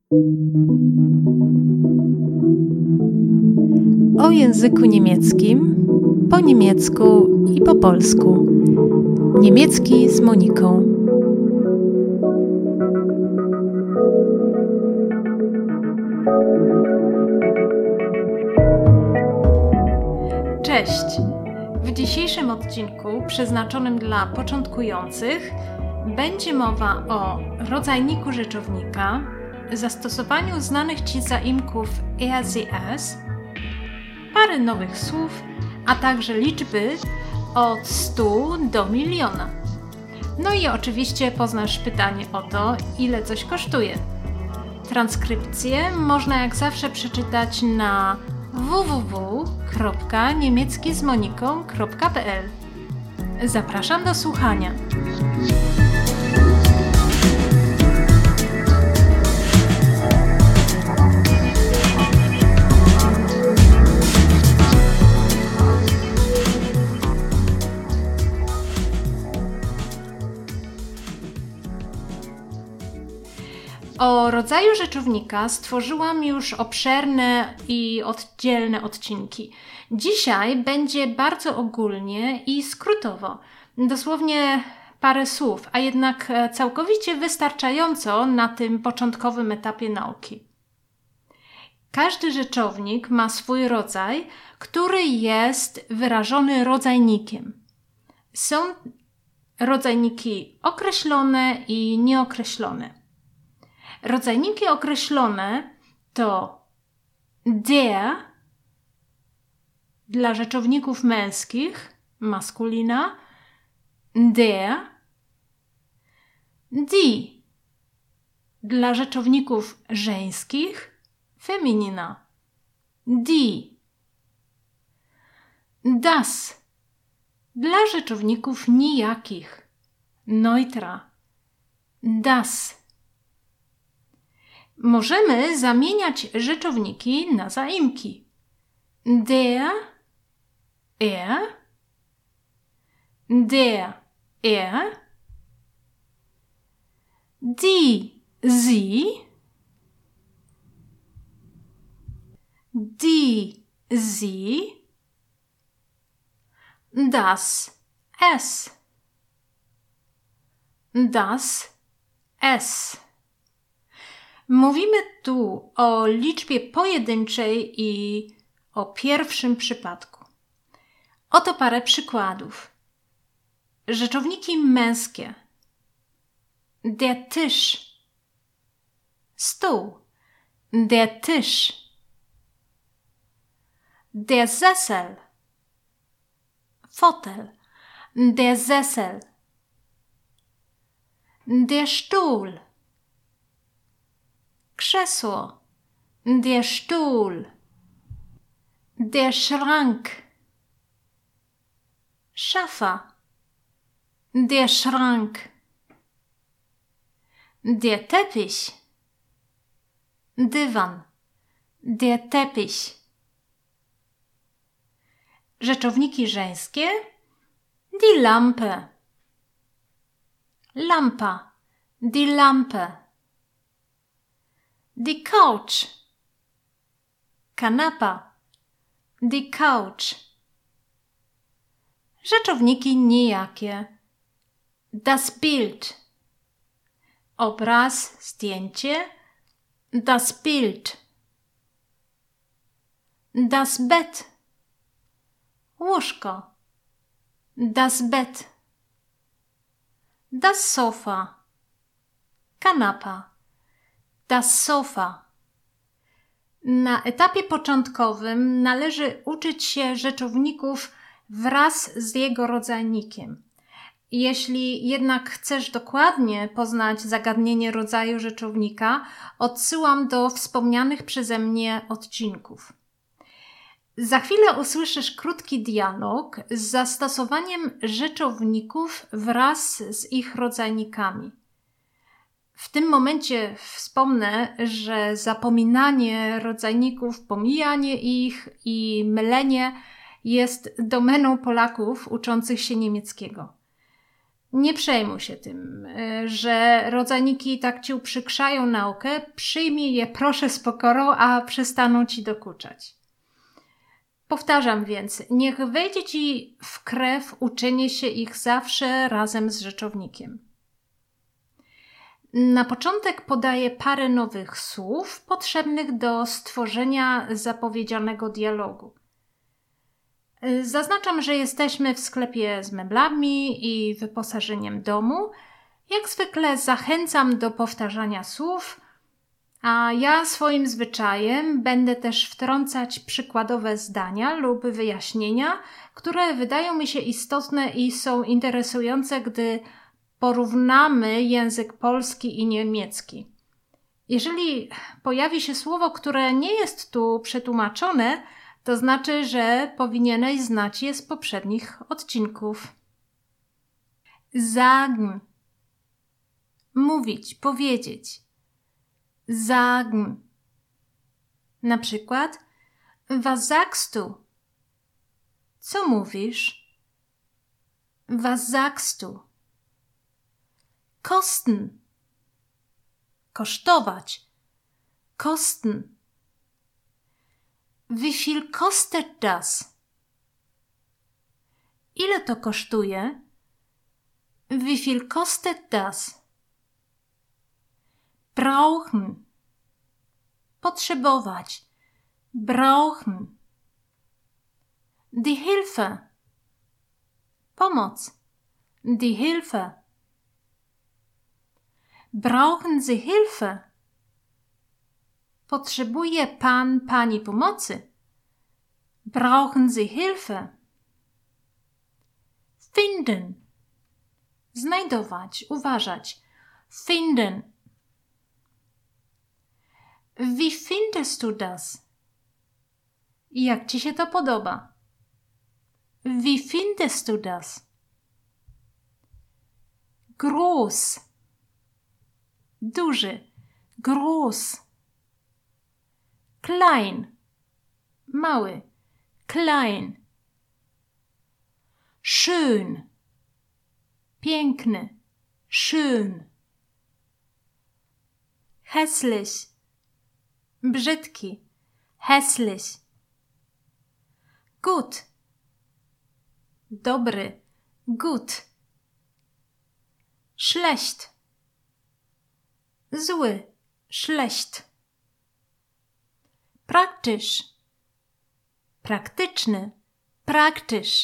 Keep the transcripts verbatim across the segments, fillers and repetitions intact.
O języku niemieckim, po niemiecku i po polsku. Niemiecki z Moniką. Cześć! W dzisiejszym odcinku, przeznaczonym dla początkujących, będzie mowa o rodzajniku rzeczownika, zastosowaniu znanych Ci zaimków er, sie, es, parę nowych słów, a także liczby od stu do miliona. No i oczywiście poznasz pytanie o to, ile coś kosztuje. Transkrypcję można jak zawsze przeczytać na w w w kropka niemiecki z moniką kropka p l. Zapraszam do słuchania. O rodzaju rzeczownika stworzyłam już obszerne i oddzielne odcinki. Dzisiaj będzie bardzo ogólnie i skrótowo, dosłownie parę słów, a jednak całkowicie wystarczająco na tym początkowym etapie nauki. Każdy rzeczownik ma swój rodzaj, który jest wyrażony rodzajnikiem. Są rodzajniki określone i nieokreślone. Rodzajniki określone to der dla rzeczowników męskich, maskulina, der, die dla rzeczowników żeńskich, feminina, die, das dla rzeczowników nijakich, neutra, das. Możemy zamieniać rzeczowniki na zaimki. Der, er, der, er, die, sie, die, sie, das, es, das, es. Mówimy tu o liczbie pojedynczej i o pierwszym przypadku. Oto parę przykładów. Rzeczowniki męskie. Der Tisch. Stół. Der Tisch. Der Sessel. Fotel. Der Sessel. Der Stuhl. Krzesło, der Stuhl, der Schrank, szafa, der Schrank, der Teppich, dywan, der Teppich. Rzeczowniki żeńskie, die Lampe, lampa, die Lampe. Die Couch, kanapa, die Couch. Rzeczowniki nijakie. Das Bild, obraz, zdjęcie, das Bild. Das Bett, łóżko, das Bett. Das Sofa, kanapa. Das Sofa. Na etapie początkowym należy uczyć się rzeczowników wraz z jego rodzajnikiem. Jeśli jednak chcesz dokładnie poznać zagadnienie rodzaju rzeczownika, odsyłam do wspomnianych przeze mnie odcinków. Za chwilę usłyszysz krótki dialog z zastosowaniem rzeczowników wraz z ich rodzajnikami. W tym momencie wspomnę, że zapominanie rodzajników, pomijanie ich i mylenie jest domeną Polaków uczących się niemieckiego. Nie przejmuj się tym, że rodzajniki tak ci uprzykrzają naukę. Przyjmij je proszę z pokorą, a przestaną ci dokuczać. Powtarzam więc, niech wejdzie ci w krew uczenie się ich zawsze razem z rzeczownikiem. Na początek podaję parę nowych słów potrzebnych do stworzenia zapowiedzianego dialogu. Zaznaczam, że jesteśmy w sklepie z meblami i wyposażeniem domu. Jak zwykle zachęcam do powtarzania słów, a ja swoim zwyczajem będę też wtrącać przykładowe zdania lub wyjaśnienia, które wydają mi się istotne i są interesujące, gdy porównamy język polski i niemiecki. Jeżeli pojawi się słowo, które nie jest tu przetłumaczone, to znaczy, że powinieneś znać je z poprzednich odcinków. Sagen. Mówić, powiedzieć. Sagen. Na przykład, was sagst du? Co mówisz? Was sagst du? Kosten. Kosztować. Kosten. Wie viel kostet das? Ile to kosztuje? Wie viel kostet das? Brauchen. Potrzebować. Brauchen. Die Hilfe. Pomoc. Die Hilfe. Brauchen Sie Hilfe? Potrzebuje pan, pani pomocy? Brauchen Sie Hilfe? Finden. Znajdować, uważać. Finden. Wie findest du das? Jak ci się to podoba? Wie findest du das? Groß. Duży. Groß. Klein. Mały. Klein. Schön. Piękny. Schön. Hässlich. Brzydki. Hässlich. Gut. Dobry. Gut. Schlecht. Zły. Schlecht. Praktisch. Praktyczny. Praktisch.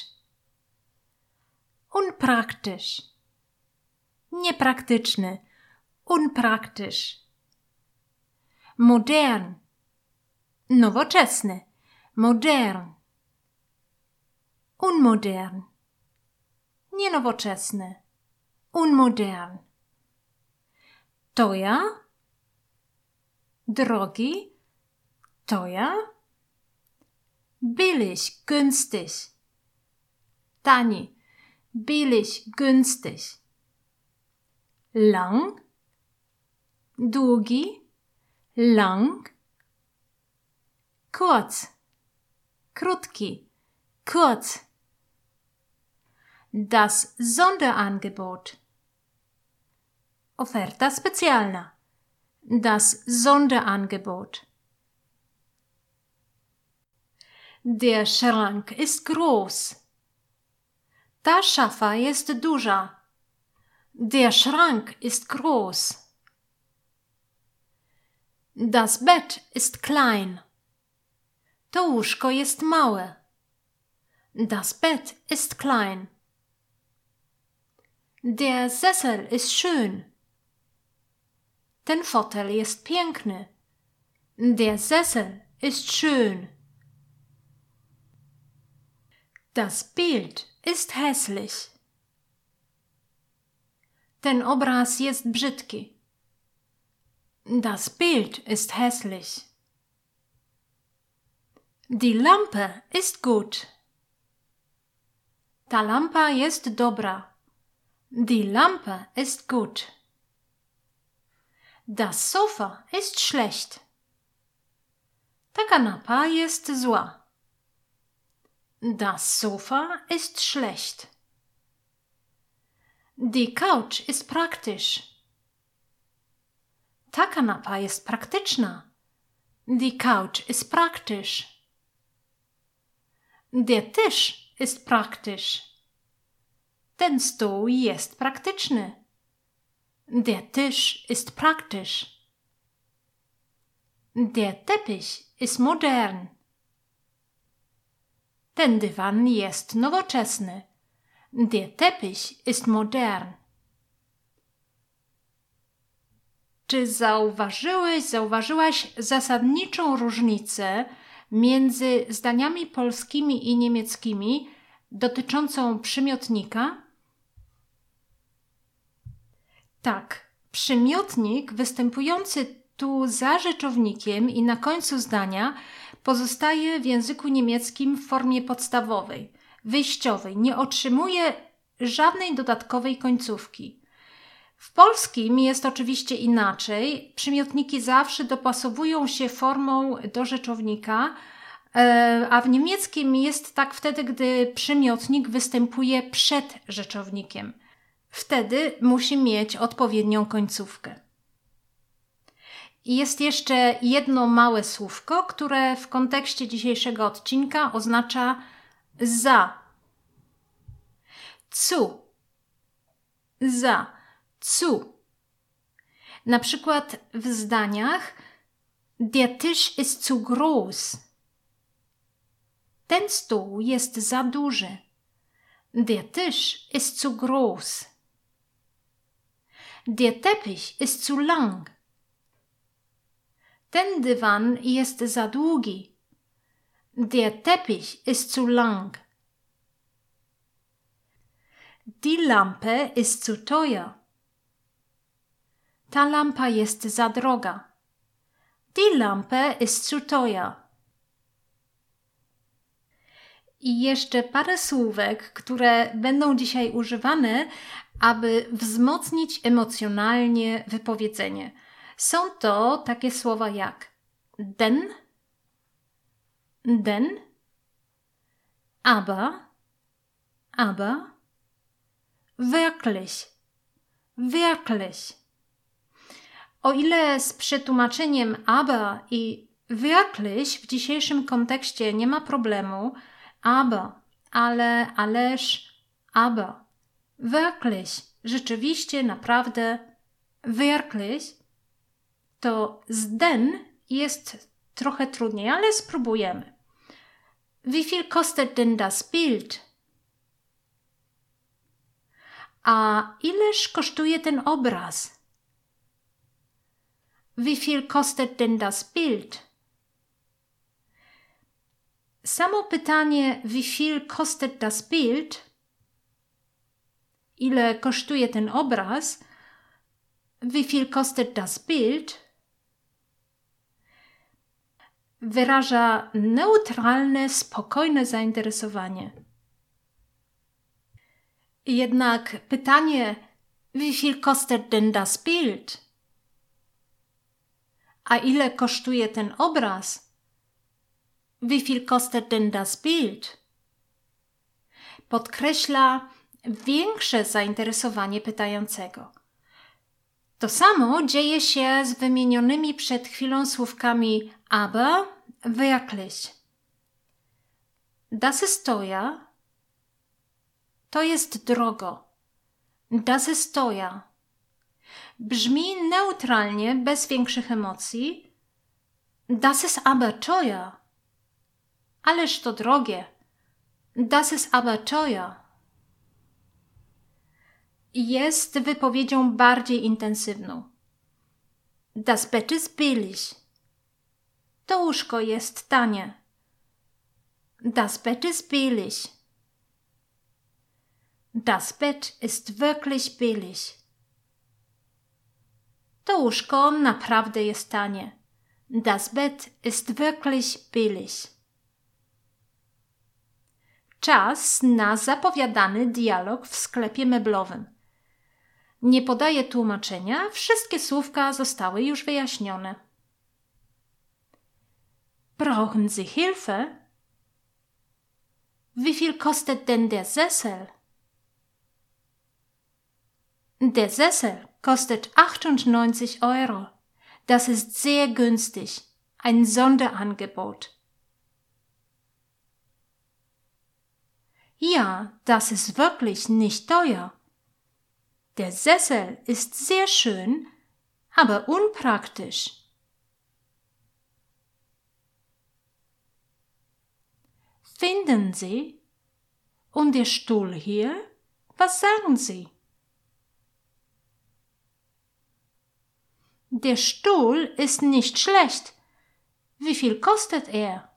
Unpraktisch. Niepraktyczny. Unpraktisch. Modern. Nowoczesny. Modern. Unmodern. Nienowoczesny. Unmodern. Teuer. Drogi. Teuer. Billig, günstig. Tani. Billig, günstig. Lang. Długi. Lang. Kurz. Krótki. Kurz. Das Sonderangebot. Oferta specjalna. Das Sonderangebot. Der Schrank ist groß. Ta szafa jest duża. Der Schrank ist groß. Das Bett ist klein. To łóżko jest małe. Das Bett ist klein. Der Sessel ist schön. Ten fotel jest piękny. Der Sessel ist schön. Das Bild ist hässlich. Ten obraz jest brzydki. Das Bild ist hässlich. Die Lampe ist gut. Ta lampa jest dobra. Die Lampe ist gut. Das Sofa ist schlecht. Ta kanapa jest zła. Das Sofa ist schlecht. Die Couch ist praktisch. Ta kanapa jest praktyczna. Die Couch ist praktisch. Der Tisch ist praktisch. Ten stół jest praktyczny. Der Tisch ist praktisch. Der Teppich ist modern. Ten dywan jest nowoczesny. Der Teppich ist modern. Czy zauważyłeś, zauważyłaś zasadniczą różnicę między zdaniami polskimi i niemieckimi dotyczącą przymiotnika? Tak, przymiotnik występujący tu za rzeczownikiem i na końcu zdania pozostaje w języku niemieckim w formie podstawowej, wyjściowej, nie otrzymuje żadnej dodatkowej końcówki. W polskim jest oczywiście inaczej. Przymiotniki zawsze dopasowują się formą do rzeczownika, a w niemieckim jest tak wtedy, gdy przymiotnik występuje przed rzeczownikiem. Wtedy musi mieć odpowiednią końcówkę. I jest jeszcze jedno małe słówko, które w kontekście dzisiejszego odcinka oznacza za. Zu. Za. Zu. Na przykład w zdaniach Der Tisch ist zu groß. Ten stół jest za duży. Der Tisch ist zu groß. Der Teppich ist zu lang. Ten dywan jest za długi. Der Teppich ist zu lang. Die Lampe ist zu teuer. Ta lampa jest za droga. Die Lampe ist zu teuer. I jeszcze parę słówek, które będą dzisiaj używane, aby wzmocnić emocjonalnie wypowiedzenie. Są to takie słowa jak denn, denn, aber, aber, wirklich, wirklich. O ile z przetłumaczeniem aber i wirklich w dzisiejszym kontekście nie ma problemu, aber, ale, ależ, aber, wirklich, rzeczywiście, naprawdę, wirklich, to z den jest trochę trudniej, ale spróbujemy. Wie viel kostet denn das Bild? A ileż kosztuje ten obraz? Wie viel kostet denn das Bild? Samo pytanie wie viel kostet das Bild? Ile kosztuje ten obraz? Wie viel kostet das Bild? Wyraża neutralne, spokojne zainteresowanie. Jednak pytanie wie viel kostet denn das Bild? A ile kosztuje ten obraz? Wie viel kostet denn das Bild? Podkreśla większe zainteresowanie pytającego. To samo dzieje się z wymienionymi przed chwilą słówkami aber, wirklich. Das ist teuer. To jest drogo. Das ist teuer. Brzmi neutralnie, bez większych emocji. Das ist aber teuer. Ależ to drogie. Das ist aber teuer. Jest wypowiedzią bardziej intensywną. Das Bett ist billig. To łóżko jest tanie. Das Bett ist billig. Das Bett ist wirklich billig. To łóżko naprawdę jest tanie. Das Bett ist wirklich billig. Czas na zapowiadany dialog w sklepie meblowym. Nie podaję tłumaczenia, wszystkie słówka zostały już wyjaśnione. Brauchen Sie Hilfe? Wie viel kostet denn der Sessel? Der Sessel kostet achtundneunzig Euro. Das ist sehr günstig. Ein Sonderangebot. Ja, das ist wirklich nicht teuer. Der Sessel ist sehr schön, aber unpraktisch. Finden Sie? Und der Stuhl hier? Was sagen Sie? Der Stuhl ist nicht schlecht. Wie viel kostet er?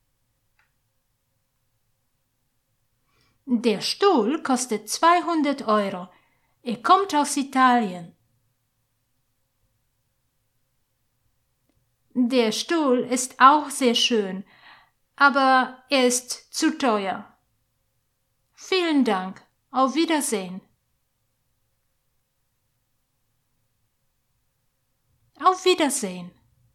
Der Stuhl kostet zweihundert Euro. Er kommt aus Italien. Der Stuhl ist auch sehr schön, aber er ist zu teuer. Vielen Dank. Auf Wiedersehen. Auf Wiedersehen.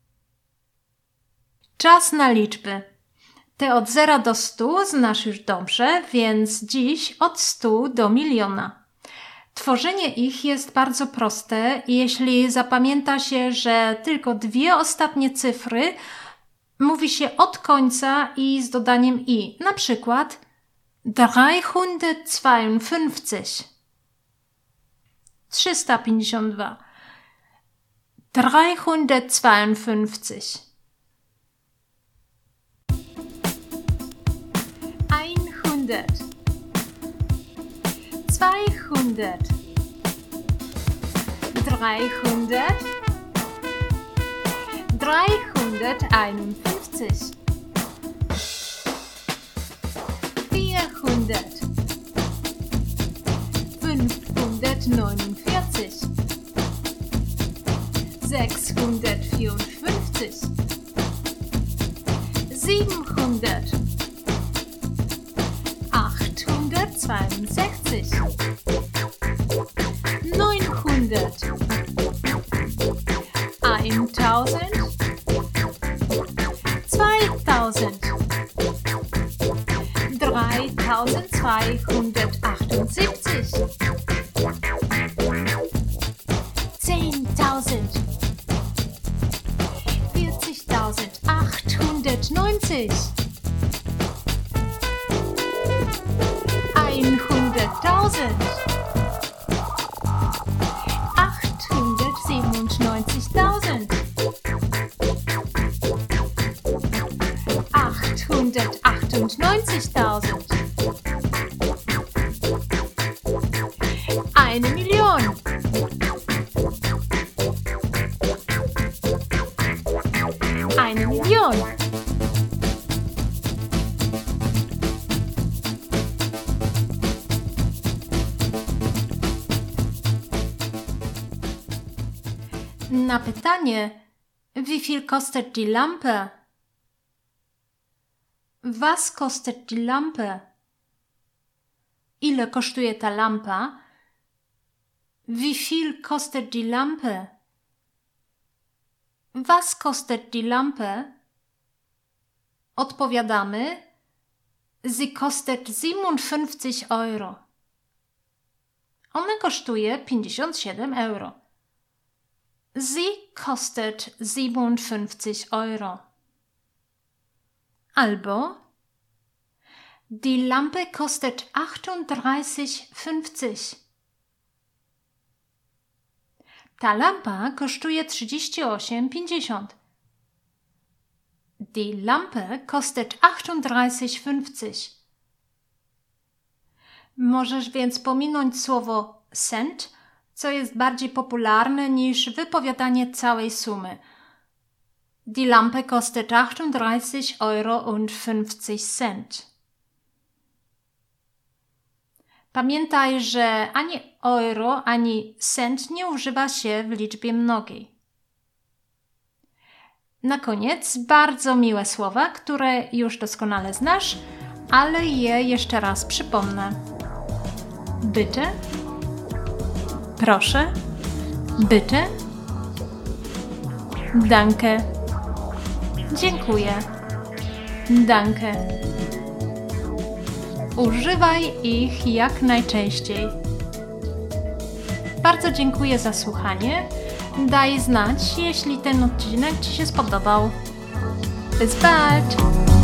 Czas na liczby. Te od zera do stu znasz już dobrze, więc dziś od stu do miliona. Tworzenie ich jest bardzo proste, jeśli zapamięta się, że tylko dwie ostatnie cyfry mówi się od końca i z dodaniem i. Na przykład dreihundertzweiundfünfzig. trzysta pięćdziesiąt dwa. dreihundertzweiundfünfzig. einhundert. zweihundert. dreihundert. dreihunderteinundfünfzig. vierhundert. fünfhundertneunundvierzig. sechshundertvierundfünfzig. siebenhundert. achthundertzweiundsechzig. neunhundert. eintausend. zweitausend. dreitausendzweihundertachtundsiebzig. zehntausend. vierzigtausendachthundertneunzig. einhunderttausend. achthundertsiebenundneunzigtausend. achthundertachtundneunzigtausend. Eine Million. Eine Million. Na pytanie, wie viel kostet die Lampe? Was kostet die Lampe? Ile kosztuje ta lampa? Wie viel kostet die Lampe? Was kostet die Lampe? Odpowiadamy, sie kostet siebenundfünfzig Euro. Ona kosztuje pięćdziesiąt siedem euro. Sie kostet siebenundfünfzig Euro. Albo die Lampe kostet achtunddreißig fünfzig. Ta lampa kosztuje trzydzieści osiem pięćdziesiąt. Die Lampe kostet achtunddreißig fünfzig. Możesz więc pominąć słowo cent, co jest bardziej popularne niż wypowiadanie całej sumy. Die Lampe kostet achtunddreißig Euro und fünfzig Cent. Pamiętaj, że ani euro, ani cent nie używa się w liczbie mnogiej. Na koniec bardzo miłe słowa, które już doskonale znasz, ale je jeszcze raz przypomnę. Bitte, proszę, bitte, danke, dziękuję, danke. Używaj ich jak najczęściej. bardzo dziękuję za słuchanie. Daj znać, jeśli ten odcinek Ci się spodobał. Bis bald!